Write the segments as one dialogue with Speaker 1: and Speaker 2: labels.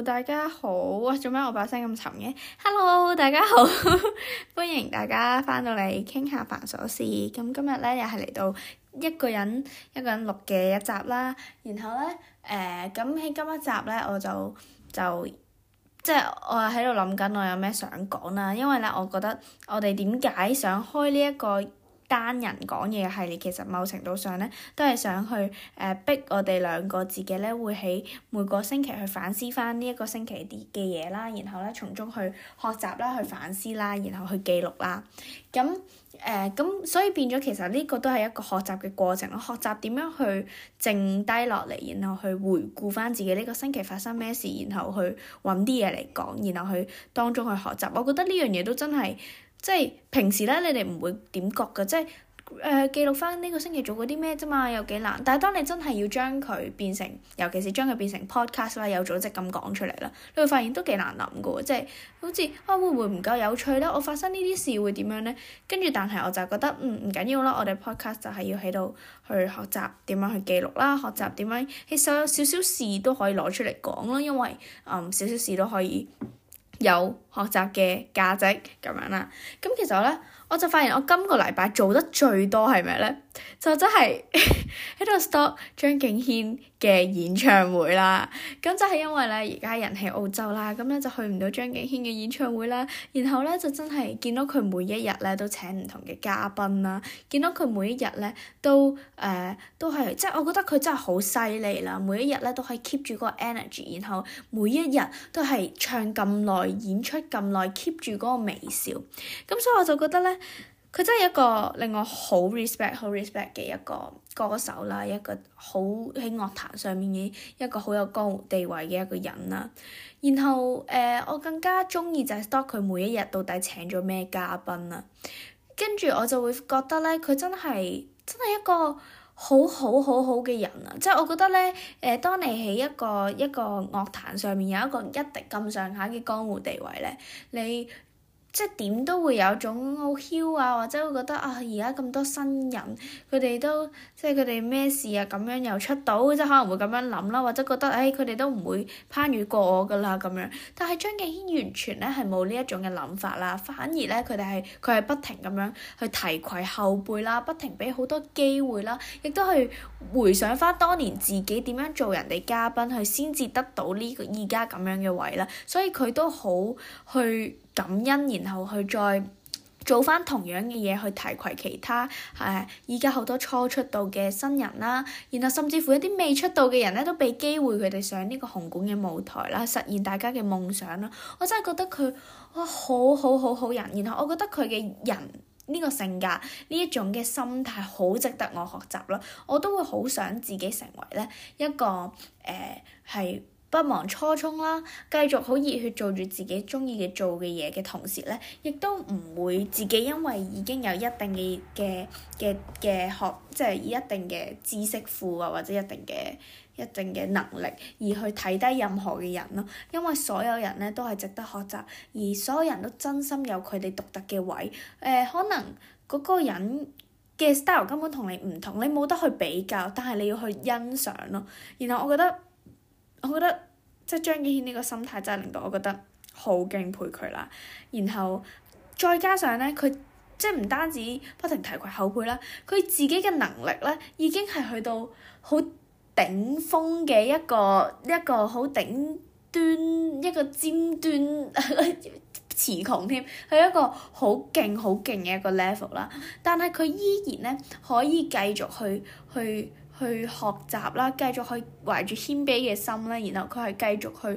Speaker 1: 大家好啊！做咩我把聲咁沉嘅？Hello，大家好，歡迎大家翻到嚟傾下煩瑣事。咁今日咧又係嚟到一個人錄嘅一集啦。然後咧咁喺今一集咧我就即係我喺度諗緊我有咩想講啦。因為咧我覺得我哋點解想開呢一個單人講嘢系列，其實某程度上咧都係想去逼我哋兩個自己咧會喺每個星期去反思翻呢一個星期啲嘅嘢啦，然後咧從中去學習啦、去反思啦，然後去記錄啦。咁所以變咗其實呢個都係一個學習嘅過程咯，學習點樣去靜低落嚟，然後去回顧翻自己呢個星期發生咩事，然後去揾啲嘢嚟講，然後去當中去學習。我覺得呢樣嘢都真係即係平時咧，你哋唔會點覺㗎，即係記錄翻呢個星期做過啲咩啫嘛，有幾難。但係當你真係要將佢變成，尤其是將佢變成 podcast 啦，有組織咁講出嚟啦，你會發現都幾難諗㗎喎，即係好似會唔會唔夠有趣咧？我發生呢啲事會點樣咧？跟住但係我就覺得唔緊要啦，我哋 podcast 就係要喺度去學習點樣去記錄啦，學習點樣喺所有少少事都可以攞出嚟講啦，因為少少事都可以有學習嘅價值咁樣啦。咁其實咧，我就發現我今個禮拜做得最多係咩咧？就真係喺度 stop 張敬軒嘅演唱會啦。咁就係因為咧，而家人喺澳洲啦，咁咧就去唔到張敬軒嘅演唱會啦。然後咧就真係見到佢每一日咧都請唔同嘅嘉賓啦，見到佢每一日咧都係即係我覺得佢真係好犀利啦。每一日咧都可以 keep 住嗰個 energy， 然後每一日都係唱咁耐、演出咁耐 keep 住嗰個微笑。咁所以我就覺得咧，佢真係一個令我好 respect 嘅一個歌手啦，一個好喺樂壇上面嘅一個好有江湖地位嘅一個人啦。然後我更加鍾意就係 stalk 佢每一日到底請咗咩嘉賓啦。跟住我就會覺得咧，佢真係一個好嘅人啊！即係我覺得咧，當你喺一個樂壇上面有一個一定咁上下嘅江湖地位咧，你即係點都會有種好囂啊，或者會覺得啊，而家咁多新人，佢哋都即係佢哋咩事啊咁樣又出到，即係可能會咁樣諗啦，或者覺得佢哋都唔會攀越過我㗎啦咁樣。但係張敬軒完全咧係冇呢一種嘅諗法啦，反而咧佢係不停咁樣去提攜後輩啦，不停俾好多機會啦，亦都去回想翻當年自己點樣做人哋嘉賓，去先至得到呢個而家咁樣嘅位啦。所以佢都好去感恩，然後去再做翻同樣嘅嘢去提攜其他依家好多初出道嘅新人啦，然後甚至乎一啲未出道嘅人咧都俾機會佢哋上呢個紅館嘅舞台啦，實現大家嘅夢想啦。我真係覺得佢好人，然後我覺得佢嘅人呢個性格呢一種嘅心態好值得我學習啦。我都會好想自己成為咧一個係不忘初衷啦，繼續好熱血做住自己鍾意嘅做嘅嘢嘅同時咧，亦都唔會自己因為已經有一定嘅學，即係一定嘅知識庫啊，或者一定嘅能力而去睇低任何嘅人咯。因為所有人咧都係值得學習，而所有人都真心有佢哋獨特嘅位。可能嗰個人嘅 style 根本同你唔同，你冇得去比較，但係你要去欣賞咯。然後我覺得即係張敬軒呢個心態真係令到我覺得好敬佩佢啦。然後再加上咧，佢即係唔單止不停提攜後輩啦，佢自己嘅能力咧已經係去到好頂峰嘅一個好頂端一個尖端詞窮添，係一個好勁嘅一個 level 啦。但係佢依然咧可以繼續去學習啦，繼續去懷住謙卑嘅心啦，然後佢係繼續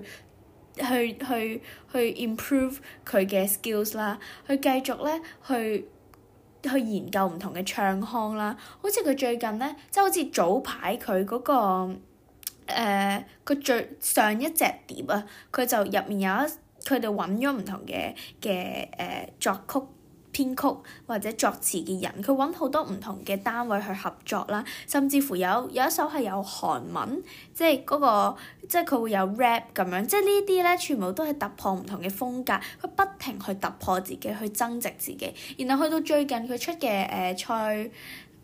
Speaker 1: 去 improve 佢嘅 skills 啦，去繼續咧去研究唔同嘅唱腔啦。好似佢最近咧，即係好似早排佢嗰個佢最上一隻碟啊，佢就入面佢哋揾咗唔同嘅作曲編曲或者作詞嘅人，佢揾好多唔同嘅單位去合作啦，甚至乎有一首係有韓文，即係佢會有 rap 咁樣，即係呢啲咧全部都係突破唔同嘅風格，佢不停去突破自己，去增值自己。然後去到最近佢出嘅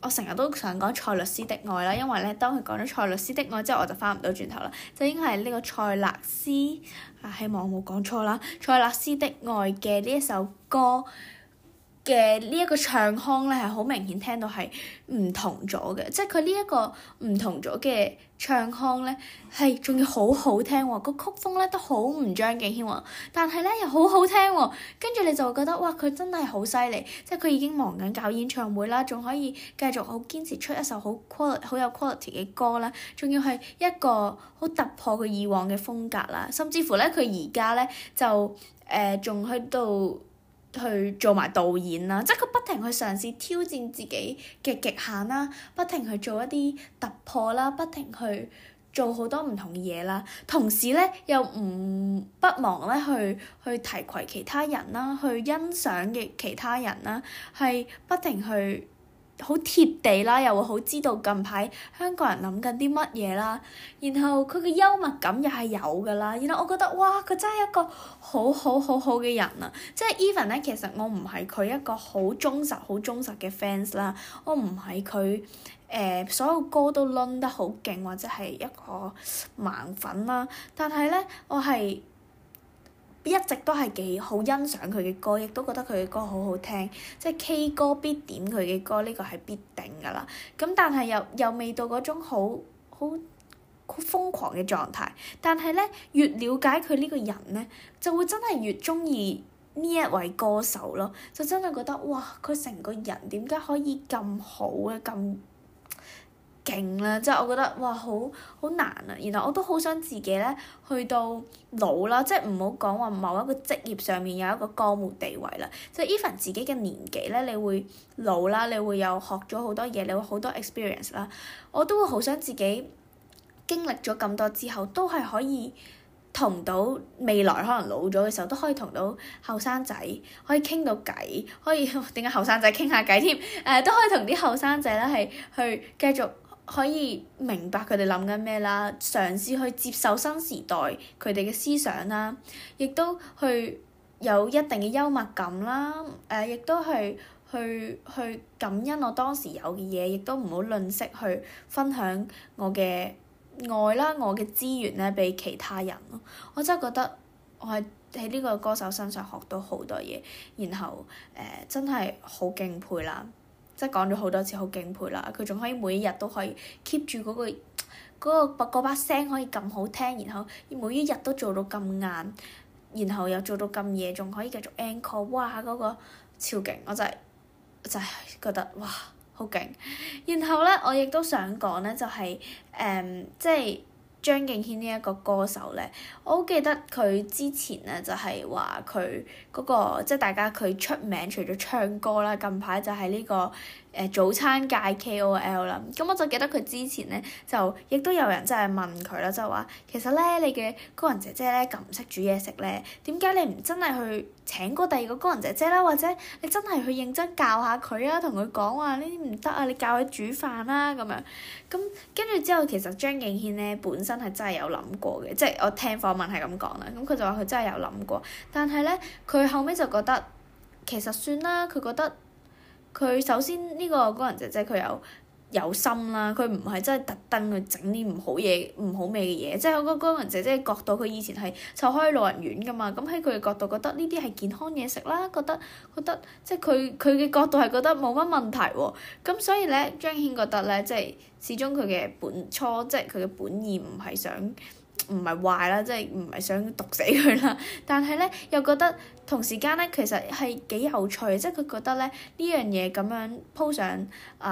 Speaker 1: 我成日都想講塞勒斯的愛啦，因為咧當佢講咗塞勒斯的愛之後，我就翻唔到轉頭啦，就應該係呢個塞勒斯希望我冇講錯啦，塞勒斯的愛嘅呢一首歌嘅呢一個唱腔咧係好明顯聽到係唔同咗嘅，即係佢呢一個唔同咗嘅唱腔咧係仲要好好聽喎，個曲風咧都好唔張敬軒喎，但係咧又好好聽喎，跟住你就會覺得哇佢真係好犀利，即係佢已經忙緊搞演唱會啦，仲可以繼續好堅持出一首好有 quality 嘅歌啦，仲要係一個好突破佢以往嘅風格啦，甚至乎咧佢而家咧就仲去到去做埋導演啦，即係佢不停去嘗試挑戰自己嘅極限啦，不停去做一啲突破啦，不停去做好多唔同嘅嘢啦，同時咧又不忘咧去提攜其他人啦，去欣賞嘅其他人啦，係不停去好貼地啦，又會好知道近排香港人諗緊啲乜嘢啦，然後佢嘅幽默感又係有㗎啦，然後我覺得哇佢真係一個好嘅人啊，即係 even 咧其實我唔係佢一個好忠實嘅 fans 啦，我唔係佢所有歌都攆得好勁或者係一個盲粉啦，但係咧我係一直都係幾好欣賞佢嘅歌，亦都覺得佢嘅歌好好聽，即係 K 歌必點佢嘅歌，呢個係必定㗎啦。咁但係又未到嗰種好瘋狂嘅狀態，但係咧越了解佢呢個人咧，就會真係越鍾意呢一位歌手咯，就真係覺得哇佢成個人點解可以咁好咧咁勁啦，即係我覺得哇好難啊，然後我都好想自己咧去到老啦，即係唔好講話某一個職業上面有一個江湖地位啦，即係 even 自己嘅年紀咧，你會老啦，你會有學咗好多嘢，你會好多 experience 啦，我都會好想自己經歷咗咁多之後，都係可以同到未來可能老咗嘅時候，都可以同到後生仔可以傾到偈，可以點解後生仔傾下偈添？都可以同啲後生仔咧係去繼續可以明白佢哋諗緊咩啦，嘗試去接受新時代佢哋嘅思想啦，亦都去有一定嘅幽默感啦，亦都係去感恩我當時有嘅嘢，亦都唔好吝嗇去分享我嘅愛啦，我嘅資源咧俾其他人咯。我真係覺得我係喺呢個歌手身上學到好多嘢，然後真係好敬佩啦。即係講咗好多次好敬佩啦，佢仲可以每一日都可以 keep 住嗰把聲可以咁好聽，然後每一日都做到咁晏，然後又做到咁夜，仲可以繼續 encore， 哇嗰個超勁！我真係覺得哇好勁。然後咧，我亦都想講咧，就係即係張敬軒呢一個歌手咧，我好記得佢之前咧就係話佢嗰個即係大家佢出名除咗唱歌啦，近排就係呢個早餐界 KOL 啦。咁我就記得佢之前咧就亦都有人真係問佢啦，就話其實咧你嘅工人姐姐咧咁唔識煮嘢食咧，點解你唔真係去請過第二個工人姐姐啦，或者你真係去認真教下佢啊，同佢講話呢啲唔得啊，你教佢煮飯啦咁樣。咁跟住之後，其實張敬軒咧本身係真係有諗過嘅，即係我聽訪問係咁講啦。咁佢就話佢真係有諗過，但係咧佢後尾就覺得其實算啦。佢覺得佢首先呢個工人姐姐佢有心啦，佢唔係真係特登去整啲唔好味嘅嘢。即係嗰個工人姐姐嘅角度，佢以前係湊開老人院㗎嘛。咁喺佢嘅角度覺得呢啲係健康嘢食啦，覺得即係佢嘅角度係覺得冇乜問題喎。咁所以咧，張敬軒覺得咧，即係始終佢嘅即係佢嘅本意唔係壞啦，即係唔係想毒死佢啦。但係咧又覺得同時間咧，其實係幾有趣，即係佢覺得咧呢樣嘢咁樣 po 上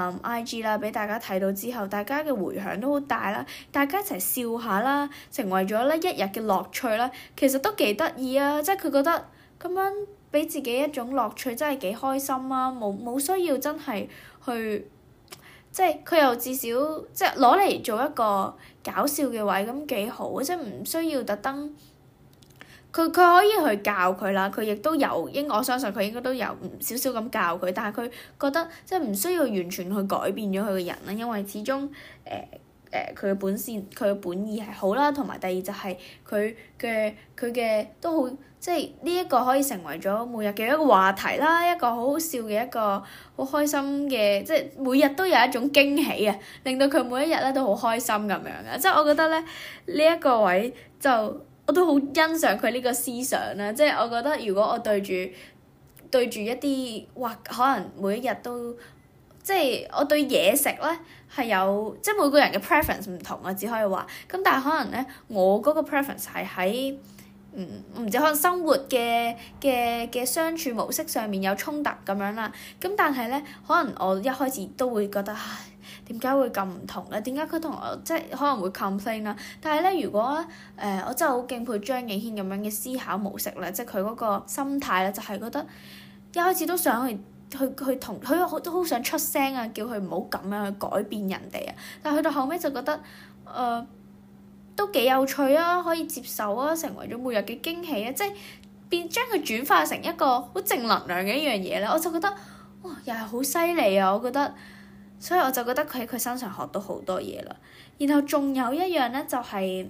Speaker 1: IG 啦，俾大家睇到之後，大家嘅迴響都好大啦，大家一齊笑下啦，成為咗咧一日嘅樂趣啦，其實都幾得意啊！即係佢覺得咁樣俾自己一種樂趣，真係幾開心啊！冇需要真係去。即係佢又至少即係攞嚟做一個搞笑嘅位，咁幾好啊！即係唔需要特登，佢可以去教佢啦。佢亦都我相信佢應該都有少少咁教佢，但係佢覺得即係唔需要完全去改變咗佢嘅人啦，因為始終佢嘅本線，佢嘅本意係好啦，同埋第二就係佢嘅都好，即係呢一個可以成為咗每日嘅一個話題啦，一個好好笑嘅一個好開心嘅，即係每日都有一種驚喜啊，令到佢每一日咧都好開心咁樣嘅。即係我覺得咧呢一個位就我都好欣賞佢呢個思想啦。即係我覺得如果我對住一啲可能每一日都即係我對嘢食咧係有即係每個人嘅 preference 唔同啊，只可以話咁，但係可能咧我嗰個 preference 係喺唔知可能生活嘅相處模式上面有衝突咁樣啦。咁但係咧可能我一開始都會覺得唉，點解會咁唔同咧？點解佢同我即係可能會 complain 啦？但係咧如果我真係好敬佩張敬軒咁樣嘅思考模式咧，即係佢嗰個心態咧，就係覺得一開始都想去同佢都好想出聲啊，叫佢唔好咁樣去改變人哋啊。但係去到後尾就覺得都幾有趣啊，可以接受啊，成為咗每日嘅驚喜啊，即係將佢轉化成一個好正能量嘅一樣嘢咧，我就覺得哇，又係好犀利啊！我覺得，所以我就覺得佢喺佢身上學到好多嘢啦。然後仲有一樣咧，就係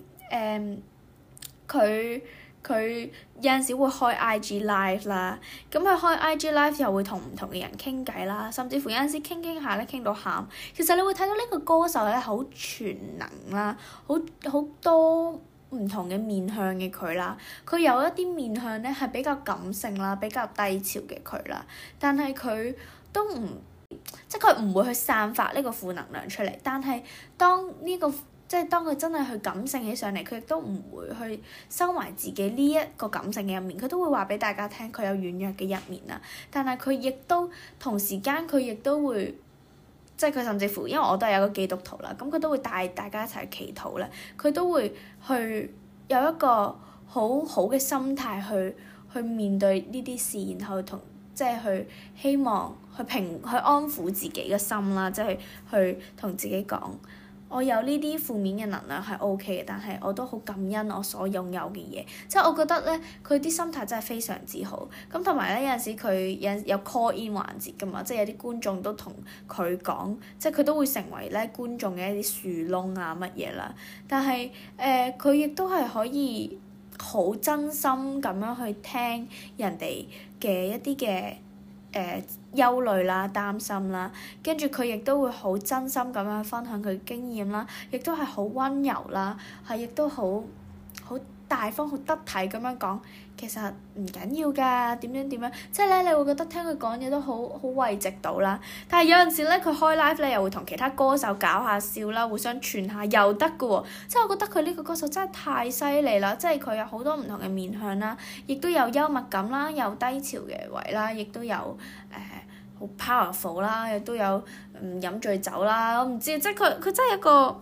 Speaker 1: 佢有陣時會開 IG live 啦，咁佢開 IG live 又會同唔同嘅人傾偈啦，甚至乎有陣時傾下咧傾到喊。其實你會睇到呢個歌手咧好全能啦，好多唔同嘅面向嘅佢啦。佢有一啲面向咧係比較感性啦，比較低潮嘅佢啦，但係佢都唔即係佢唔會去散發呢個負能量出嚟。但係當佢真係去感性起上嚟，佢亦都唔會去收埋自己呢一個感性嘅一面，佢都會話俾大家聽佢有軟弱嘅一面啦。但係佢亦都同時間佢亦都會，即係佢甚至乎，因為我都係有個基督徒啦，咁佢都會帶大家一齊去祈禱咧，佢都會去有一個好好嘅心態去面對呢啲事，然後即係去希望去安撫自己嘅心啦，即係去同自己講。我有呢啲負面嘅能量係 OK 嘅，但係我都好感恩我所擁有嘅嘢。即係我覺得咧，佢啲心態真係非常之好。咁同埋咧，有陣時佢有 call in 環節㗎嘛，即係有啲觀眾都同佢講，即係佢都會成為咧觀眾嘅一啲樹窿啊乜嘢啦。但係佢亦都係可以好真心咁樣去聽人哋嘅一啲嘅憂慮啦、擔心啦，跟住佢亦都會好真心咁樣分享佢經驗啦，亦都係好溫柔啦，係亦都好大方、好得體咁樣講，其實唔緊要㗎，點樣，即係咧你會覺得聽佢講嘢都好慰藉到啦。但係有陣時咧，佢開 live 咧又會同其他歌手搞下笑啦，互相串下又得㗎喎。即係我覺得佢呢個歌手真係太犀利啦，即係佢有好多唔同嘅面向啦，亦都有幽默感啦，有低潮嘅位啦，亦都有好 powerful 啦，亦都有飲醉酒啦，我唔知，即係佢真係一個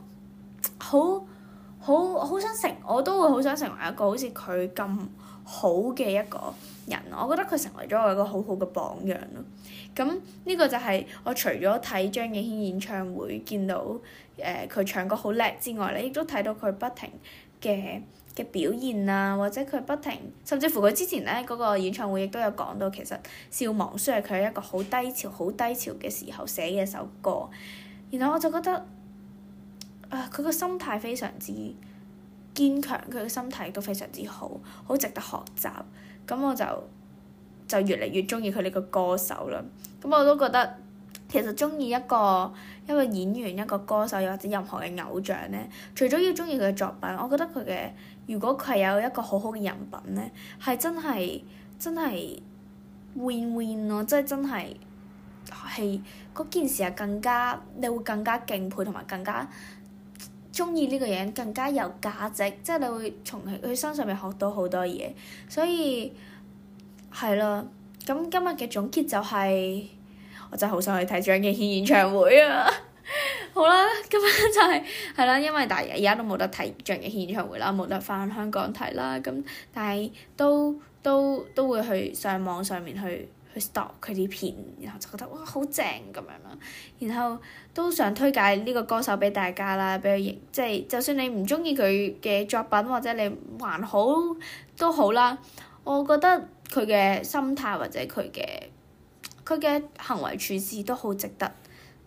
Speaker 1: 好想我都會好想成為一個好似佢咁好嘅一個人。我覺得佢成為咗我一個好好嘅榜樣咯。咁呢個就係我除咗睇張敬軒演唱會見到佢唱歌好叻之外咧，亦都睇到佢不停嘅表現啊，或者佢不停，甚至乎佢之前咧嗰個演唱會亦都有講到，其實《笑忘書》係佢一個好低潮嘅時候寫嘅一首歌。然後我就覺得佢個心態非常之堅強，佢個心態都非常之好，好值得學習。咁我就越嚟越中意佢呢個歌手啦。咁我都覺得其實中意一個演員、一個歌手，又或者任何嘅偶像咧，除咗要中意佢嘅作品，我覺得如果佢係有一個好好嘅人品咧，係真係 win 咯，即係真係嗰件事係你會更加敬佩，同埋更加中意呢個人，更加有價值，即係你會從佢身上面學到好多嘢。所以係啦，咁今日嘅總結就係我真係好想去睇張敬軒演唱會啊！好啦，今日就係啦，因為但係而家都冇得睇張敬軒演唱會啦，冇得翻香港睇啦。咁但係都會去上網上面去 stalk 佢啲片，然後就覺得哇好正咁樣啦。然後都想推介呢個歌手俾大家啦，俾佢認，即係就算你唔中意佢嘅作品，或者你還好都好啦。我覺得佢嘅心態或者佢嘅行為處事都好值得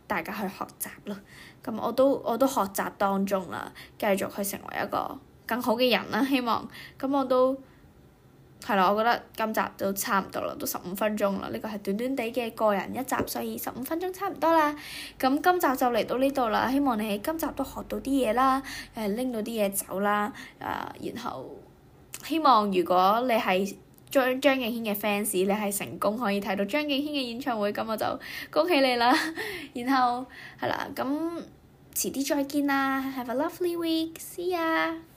Speaker 1: 大家去學習咯。咁我都學習當中啦，繼續去成為一個更好嘅人啦，希望。咁我都係啦，我覺得今集都差唔多啦，都15分鐘啦。呢個係短短地嘅個人一集，所以15分鐘差唔多啦。咁今集就嚟到呢度啦，希望你喺今集都學到啲嘢啦，拎到啲嘢走啦，然後希望如果你係張敬軒嘅 fans，你係成功可以睇到張敬軒嘅演唱會，咁我就恭喜你啦。然後係啦，咁遲啲再見啦，Have a lovely week，see ya。